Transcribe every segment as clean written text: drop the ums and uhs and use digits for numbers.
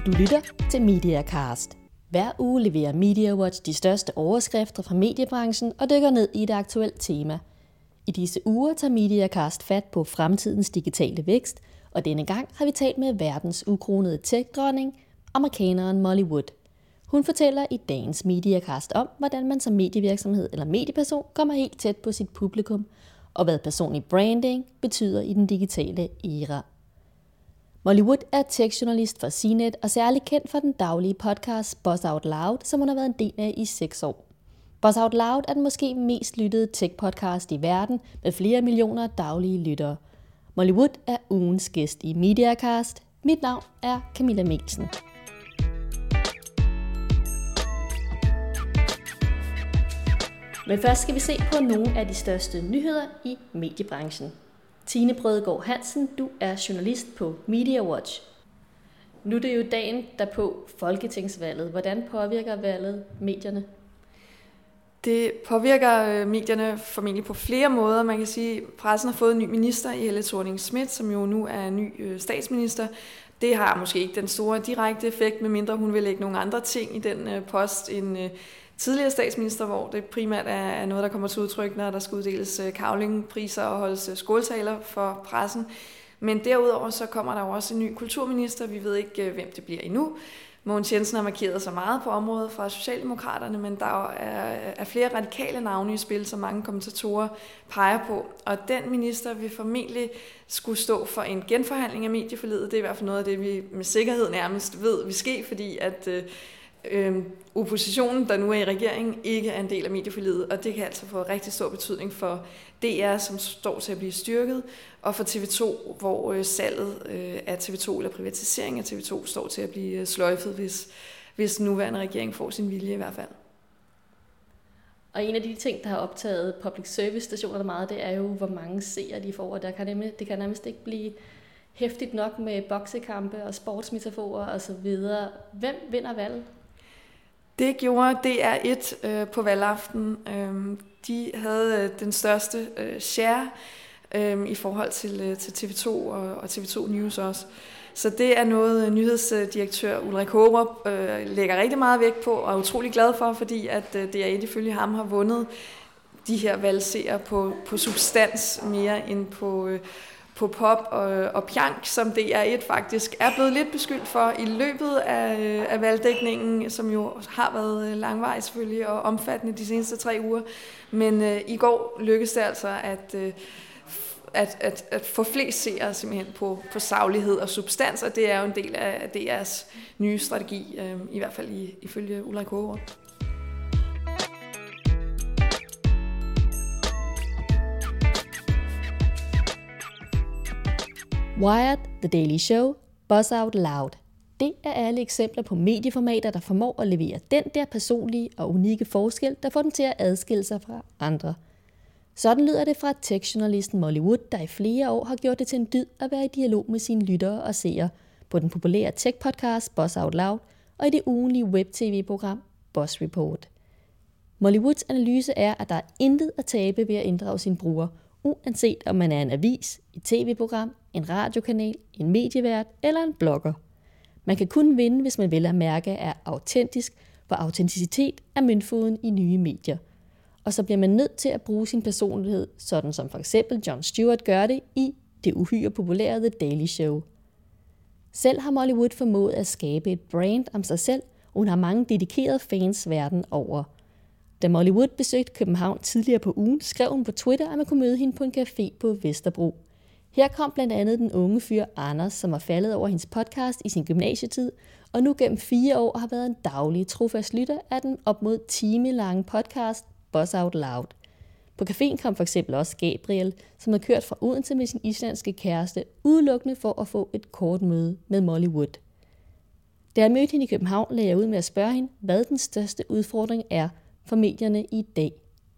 Du lytter til MediaCast. Hver uge leverer MediaWatch de største overskrifter fra mediebranchen og dykker ned i et aktuelt tema. I disse uger tager MediaCast fat på fremtidens digitale vækst, og denne gang har vi talt med verdens ukronede tech-dronning, amerikaneren Molly Wood. Hun fortæller i dagens MediaCast om, hvordan man som medievirksomhed eller medieperson kommer helt tæt på sit publikum, og hvad personlig branding betyder i den digitale æra. Molly Wood er tech-journalist for CNET og særlig kendt for den daglige podcast Buzz Out Loud, som hun har været en del af i 6 år. Buzz Out Loud er den måske mest lyttede tech-podcast i verden med flere millioner daglige lyttere. Molly Wood er ugens gæst i MediaCast. Mit navn er Camilla Melsen. Men først skal vi se på nogle af de største nyheder i mediebranchen. Tine Brødgaard Hansen, du er journalist på MediaWatch. Nu er det jo dagen derpå folketingsvalget. Hvordan påvirker valget medierne? Det påvirker medierne formentlig på flere måder. Man kan sige, at pressen har fået en ny minister i Helle Thorning-Schmidt, som jo nu er ny statsminister. Det har måske ikke den store direkte effekt, medmindre hun vil lægge nogle andre ting i den post end tidligere statsminister, hvor det primært er noget, der kommer til udtryk, når der skal uddeles Cavling-priser og holdes skåltaler for pressen. Men derudover så kommer der jo også en ny kulturminister. Vi ved ikke, hvem det bliver endnu. Mogens Jensen har markeret sig meget på området fra Socialdemokraterne, men der er flere radikale navne i spil, som mange kommentatorer peger på. Og den minister vil formentlig skulle stå for en genforhandling af medieforliget. Det er i hvert fald noget af det, vi med sikkerhed nærmest ved vil ske, fordi at oppositionen, der nu er i regeringen, ikke er en del af medieforliget, og det kan altså få rigtig stor betydning for DR, som står til at blive styrket, og for TV2, hvor salget af TV2 eller privatisering af TV2 står til at blive sløjfet, hvis den nuværende regering får sin vilje i hvert fald. Og en af de ting, der har optaget public service stationer meget, det er jo, hvor mange seere de får, og det kan nærmest ikke blive hæftigt nok med boksekampe og sportsmetaforer osv. Hvem vinder valget? Det gjorde DR1 på valgaften. De havde den største share i forhold til TV2 og TV2 News også. Så det er noget, nyhedsdirektør Ulrik Hårup lægger rigtig meget vægt på og er utrolig glad for, fordi at DR1 ifølge ham har vundet de her valgseere på substans mere end på pop og pjank, som DR1 faktisk er blevet lidt beskyldt for i løbet af valgdækningen, som jo har været langvarig selvfølgelig og omfattende de seneste 3 uger. Men i går lykkedes det altså at få flest seere simpelthen på saglighed og substans, og det er jo en del af DR's nye strategi, i hvert fald ifølge Ulrik Hårup. Wired, The Daily Show, Buzz Out Loud. Det er alle eksempler på medieformater, der formår at levere den der personlige og unikke forskel, der får den til at adskille sig fra andre. Sådan lyder det fra tech-journalisten Molly Wood, der i flere år har gjort det til en dyd at være i dialog med sine lyttere og seere på den populære tech-podcast Buzz Out Loud og i det ugenlige web-tv-program Buzz Report. Molly Woods analyse er, at der er intet at tabe ved at inddrage sine brugere, uanset om man er en avis, et tv-program, en radiokanal, en medievært eller en blogger. Man kan kun vinde, hvis man vel at mærke er autentisk, for autenticitet er møntfoden i nye medier. Og så bliver man nødt til at bruge sin personlighed, sådan som for eksempel Jon Stewart gør det i det uhyre populære The Daily Show. Selv har Molly Wood formået at skabe et brand om sig selv, og hun har mange dedikerede fans verden over. Da Molly Wood besøgte København tidligere på ugen, skrev hun på Twitter, at man kunne møde hende på en café på Vesterbro. Her kom blandt andet den unge fyr Anders, som var faldet over hendes podcast i sin gymnasietid, og nu gennem 4 år har været en daglig trofast lytter af den op mod timelange podcast Buzz Out Loud. På caféen kom for eksempel også Gabriel, som havde kørt fra Odense med sin islandske kæreste, udelukkende for at få et kort møde med Molly Wood. Da jeg mødte hende i København, lagde jeg ud med at spørge hende, hvad den største udfordring er for medierne i dag.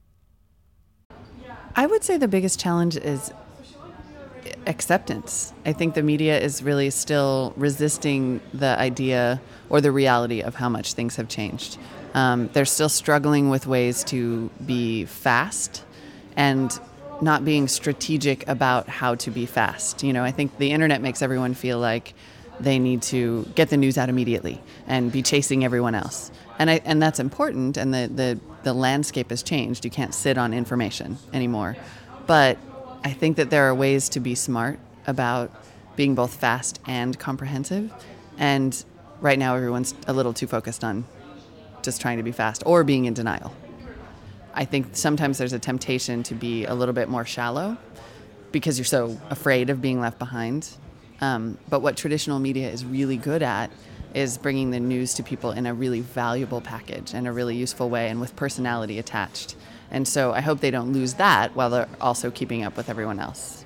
I would say the biggest challenge is acceptance. I think the media is really still resisting the idea or the reality of how much things have changed. They're still struggling with ways to be fast and not being strategic about how to be fast. You know, I think the internet makes everyone feel like they need to get the news out immediately and be chasing everyone else. And that's important, and the landscape has changed. You can't sit on information anymore. But I think that there are ways to be smart about being both fast and comprehensive. And right now everyone's a little too focused on just trying to be fast or being in denial. I think sometimes there's a temptation to be a little bit more shallow because you're so afraid of being left behind. But what traditional media is really good at is bringing the news to people in a really valuable package and a really useful way and with personality attached. And so I hope they don't lose that while they're also keeping up with everyone else.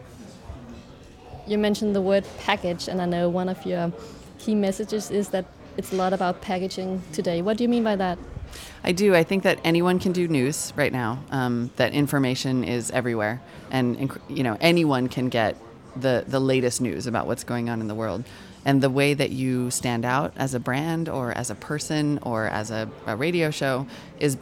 You mentioned the word package, and I know one of your key messages is that it's a lot about packaging today. What do you mean by that? I do. I think that anyone can do news right now, that information is everywhere. And anyone can get the latest news about what's going on in the world. And the way that you stand out as a brand or as a person or as a radio show is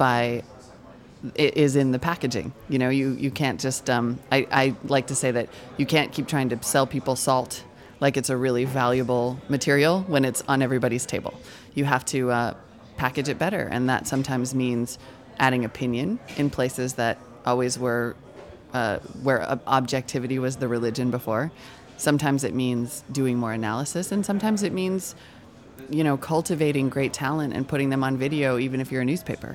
in the packaging. You can't just, I like to say that you can't keep trying to sell people salt like it's a really valuable material when it's on everybody's table. You have to package it better, and that sometimes means adding opinion in places that always were where objectivity was the religion before. Sometimes it means doing more analysis, and sometimes it means, cultivating great talent and putting them on video, even if you're a newspaper.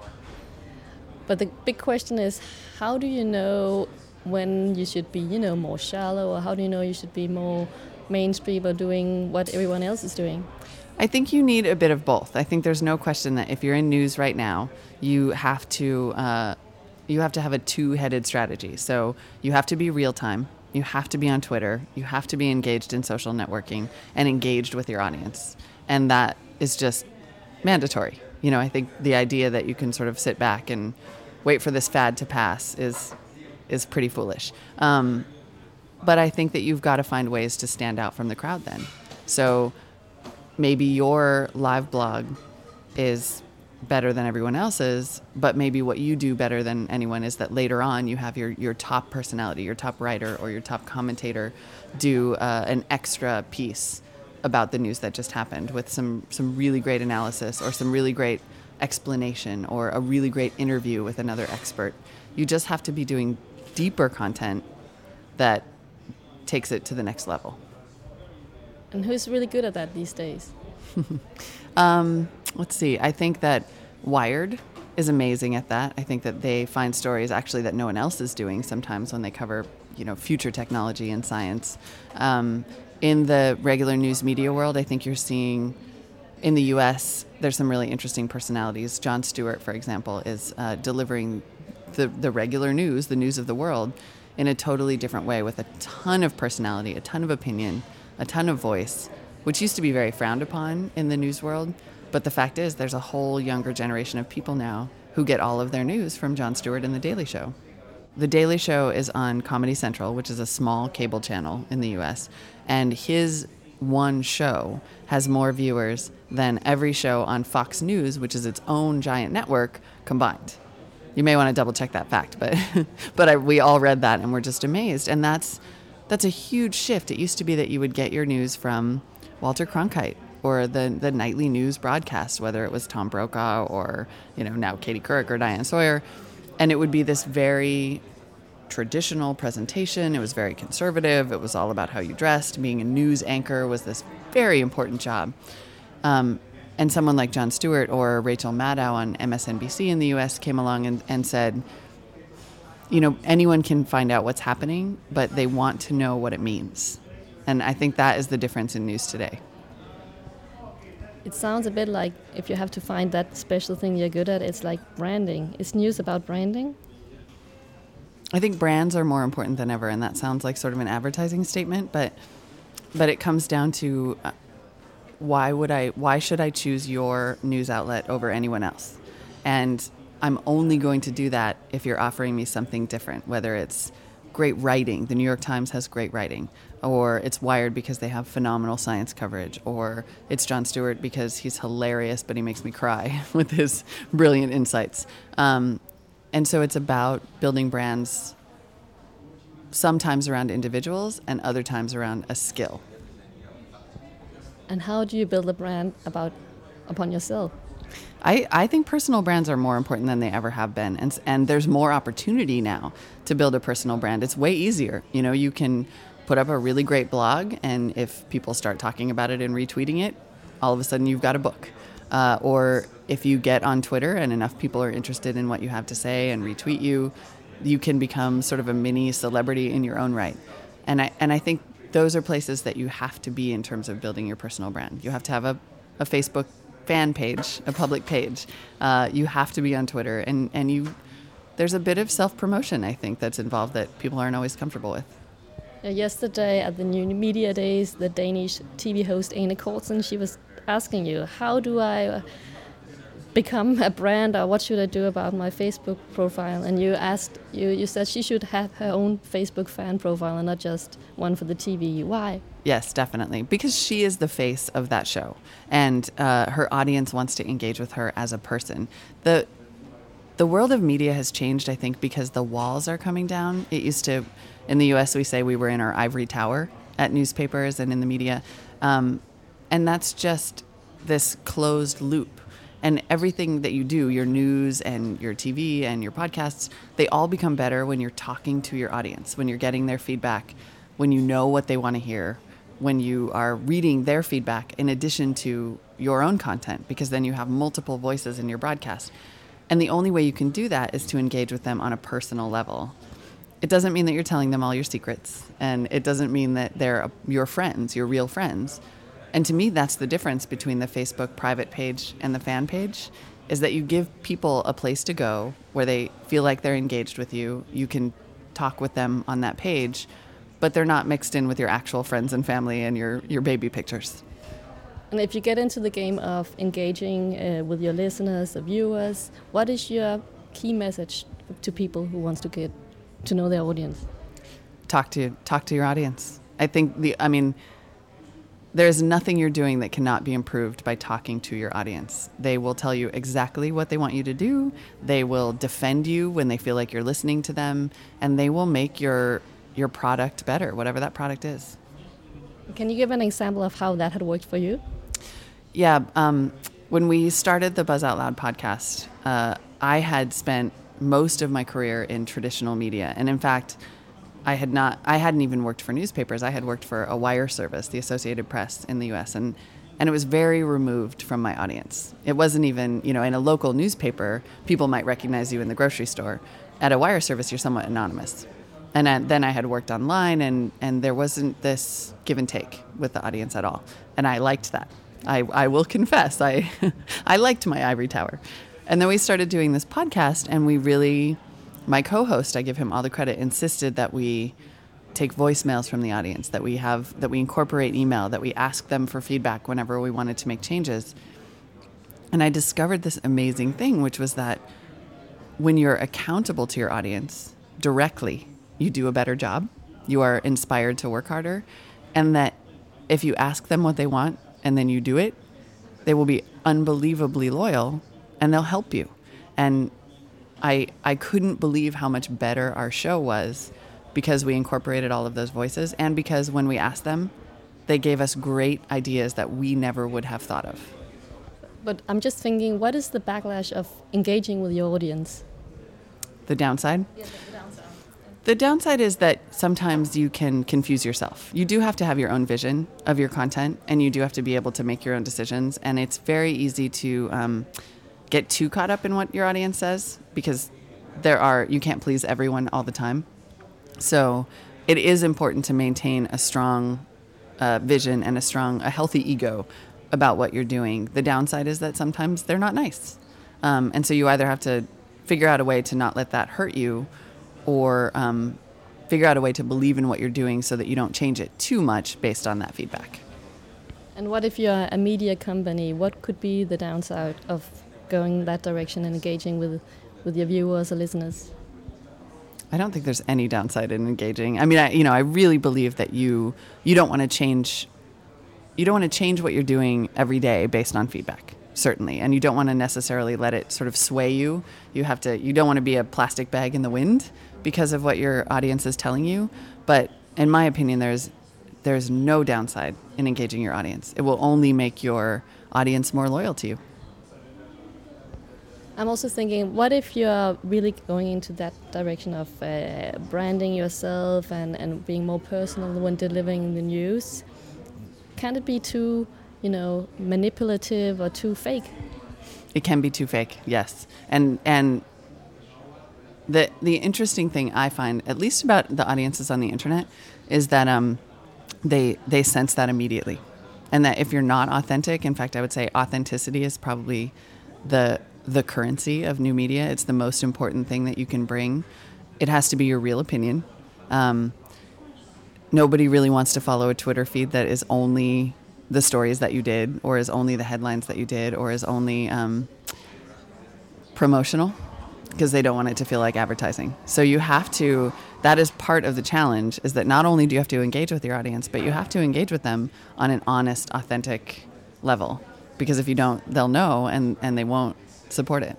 But the big question is, how do you know when you should be, more shallow, or how do you know you should be more mainstream or doing what everyone else is doing? I think you need a bit of both. I think there's no question that if you're in news right now, you have to have a two-headed strategy. So you have to be real time. You have to be on Twitter. You have to be engaged in social networking and engaged with your audience. And that is just mandatory. I think the idea that you can sort of sit back and wait for this fad to pass is pretty foolish. But I think that you've got to find ways to stand out from the crowd then. So maybe your live blog is better than everyone else's, but maybe what you do better than anyone is that later on you have your top personality, your top writer or your top commentator do an extra piece about the news that just happened with some really great analysis or some really great explanation or a really great interview with another expert. You just have to be doing deeper content that takes it to the next level. And who's really good at that these days? Let's see. I think that Wired is amazing at that. I think that they find stories actually that no one else is doing sometimes when they cover, future technology and science. In the regular news media world, I think you're seeing in the U.S., there's some really interesting personalities. Jon Stewart, for example, is delivering the regular news, the news of the world, in a totally different way with a ton of personality, a ton of opinion, a ton of voice, which used to be very frowned upon in the news world. But the fact is, there's a whole younger generation of people now who get all of their news from Jon Stewart and The Daily Show. The Daily Show is on Comedy Central, which is a small cable channel in the U.S., and his one show has more viewers than every show on Fox News, which is its own giant network, combined. You may want to double check that fact, but we all read that and we're just amazed. And that's a huge shift. It used to be that you would get your news from Walter Cronkite or the nightly news broadcast, whether it was Tom Brokaw or, now Katie Couric or Diane Sawyer. And it would be this very traditional presentation. It was very conservative. It was all about how you dressed. Being a news anchor was this very important job. And someone like Jon Stewart or Rachel Maddow on MSNBC in the U.S. came along and said, anyone can find out what's happening, but they want to know what it means. And I think that is the difference in news today. It sounds a bit like if you have to find that special thing you're good at, it's like branding. Is news about branding? I think brands are more important than ever, and that sounds like sort of an advertising statement, but it comes down to why should I choose your news outlet over anyone else? And I'm only going to do that if you're offering me something different, whether it's great writing. The New York Times has great writing, or it's Wired because they have phenomenal science coverage, or it's Jon Stewart because he's hilarious, but he makes me cry with his brilliant insights. And so it's about building brands sometimes around individuals and other times around a skill. And how do you build a brand upon yourself? I think personal brands are more important than they ever have been. And there's more opportunity now to build a personal brand. It's way easier. You know, you can put up a really great blog, and if people start talking about it and retweeting it, all of a sudden you've got a book. Or if you get on Twitter and enough people are interested in what you have to say and retweet you, you can become sort of a mini celebrity in your own right. And I think those are places that you have to be in terms of building your personal brand. You have to have a Facebook fan page, a public page. You have to be on Twitter, and there's a bit of self-promotion, I think, that's involved that people aren't always comfortable with. Yesterday at the New Media Days, the Danish TV host Ane Kortsen, she was asking you, how do I become a brand, or what should I do about my Facebook profile? And you said she should have her own Facebook fan profile and not just one for the TV. Why? Yes, definitely. Because she is the face of that show, and her audience wants to engage with her as a person. The world of media has changed, I think, because the walls are coming down. It used to, in the US, we say we were in our ivory tower at newspapers and in the media. And that's just this closed loop. And everything that you do, your news and your TV and your podcasts, they all become better when you're talking to your audience, when you're getting their feedback, when you know what they want to hear, when you are reading their feedback in addition to your own content, because then you have multiple voices in your broadcast. And the only way you can do that is to engage with them on a personal level. It doesn't mean that you're telling them all your secrets, and it doesn't mean that they're your friends, your real friends. And to me, that's the difference between the Facebook private page and the fan page, is that you give people a place to go where they feel like they're engaged with you. You can talk with them on that page, but they're not mixed in with your actual friends and family and your baby pictures. And if you get into the game of engaging with your listeners, the viewers, what is your key message to people who wants to get to know their audience? Talk to your audience. I think there's nothing you're doing that cannot be improved by talking to your audience. They will tell you exactly what they want you to do. They will defend you when they feel like you're listening to them, and they will make your product better, whatever that product is. Can you give an example of how that had worked for you? Yeah. When we started the Buzz Out Loud podcast, I had spent most of my career in traditional media. And in fact, I hadn't even worked for newspapers. I had worked for a wire service, the Associated Press in the US, and it was very removed from my audience. It wasn't even, in a local newspaper, people might recognize you in the grocery store. At a wire service, you're somewhat anonymous. And then I had worked online, and there wasn't this give and take with the audience at all. And I liked that. I will confess, I liked my ivory tower. And then we started doing this podcast, and we really... My co-host, I give him all the credit, insisted that we take voicemails from the audience, that we incorporate email, that we ask them for feedback whenever we wanted to make changes. And I discovered this amazing thing, which was that when you're accountable to your audience directly, you do a better job, you are inspired to work harder, and that if you ask them what they want and then you do it, they will be unbelievably loyal and they'll help you. And I couldn't believe how much better our show was because we incorporated all of those voices, and because when we asked them, they gave us great ideas that we never would have thought of. But I'm just thinking, what is the backlash of engaging with your audience? The downside? Yeah, the downside. The downside is that sometimes you can confuse yourself. You do have to have your own vision of your content, and you do have to be able to make your own decisions, and it's very easy to get too caught up in what your audience says, because you can't please everyone all the time. So it is important to maintain a strong vision and a healthy ego about what you're doing. The downside is that sometimes they're not nice. And so you either have to figure out a way to not let that hurt you, or figure out a way to believe in what you're doing so that you don't change it too much based on that feedback. And what if you're a media company? What could be the downside of going that direction and engaging with your viewers or listeners? I don't think there's any downside in engaging. I mean, I really believe that you don't want to change. You don't want to change what you're doing every day based on feedback, certainly, and you don't want to necessarily let it sort of sway you. You don't want to be a plastic bag in the wind because of what your audience is telling you. But in my opinion, there's there's no downside in engaging your audience. It will only make your audience more loyal to you. I'm also thinking, what if you're really going into that direction of branding yourself and being more personal when delivering the news? Can it be too, manipulative or too fake? It can be too fake, yes. And the interesting thing I find, at least about the audiences on the internet, is that they sense that immediately. And that if you're not authentic, in fact, I would say authenticity is probably the currency of new media. It's the most important thing that you can bring. It has to be your real opinion. Nobody really wants to follow a Twitter feed that is only the stories that you did, or is only the headlines that you did, or is only promotional, because they don't want it to feel like advertising. So you have to, that is part of the challenge, is that not only do you have to engage with your audience, but you have to engage with them on an honest, authentic level. Because if you don't, they'll know, and they won't support it.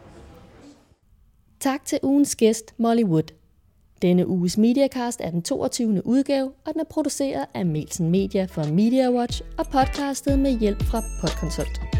Tak til ugens gæst, Molly Wood. Denne uges Mediacast er den 22. udgave, og den er produceret af Melsen Media for Media Watch og podcastet med hjælp fra Podconsult.